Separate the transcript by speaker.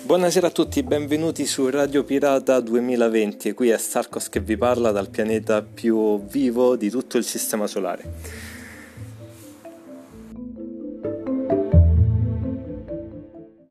Speaker 1: Buonasera a tutti, benvenuti su Radio Pirata 2020. Qui è Sarkos che vi parla dal pianeta più vivo di tutto il Sistema Solare.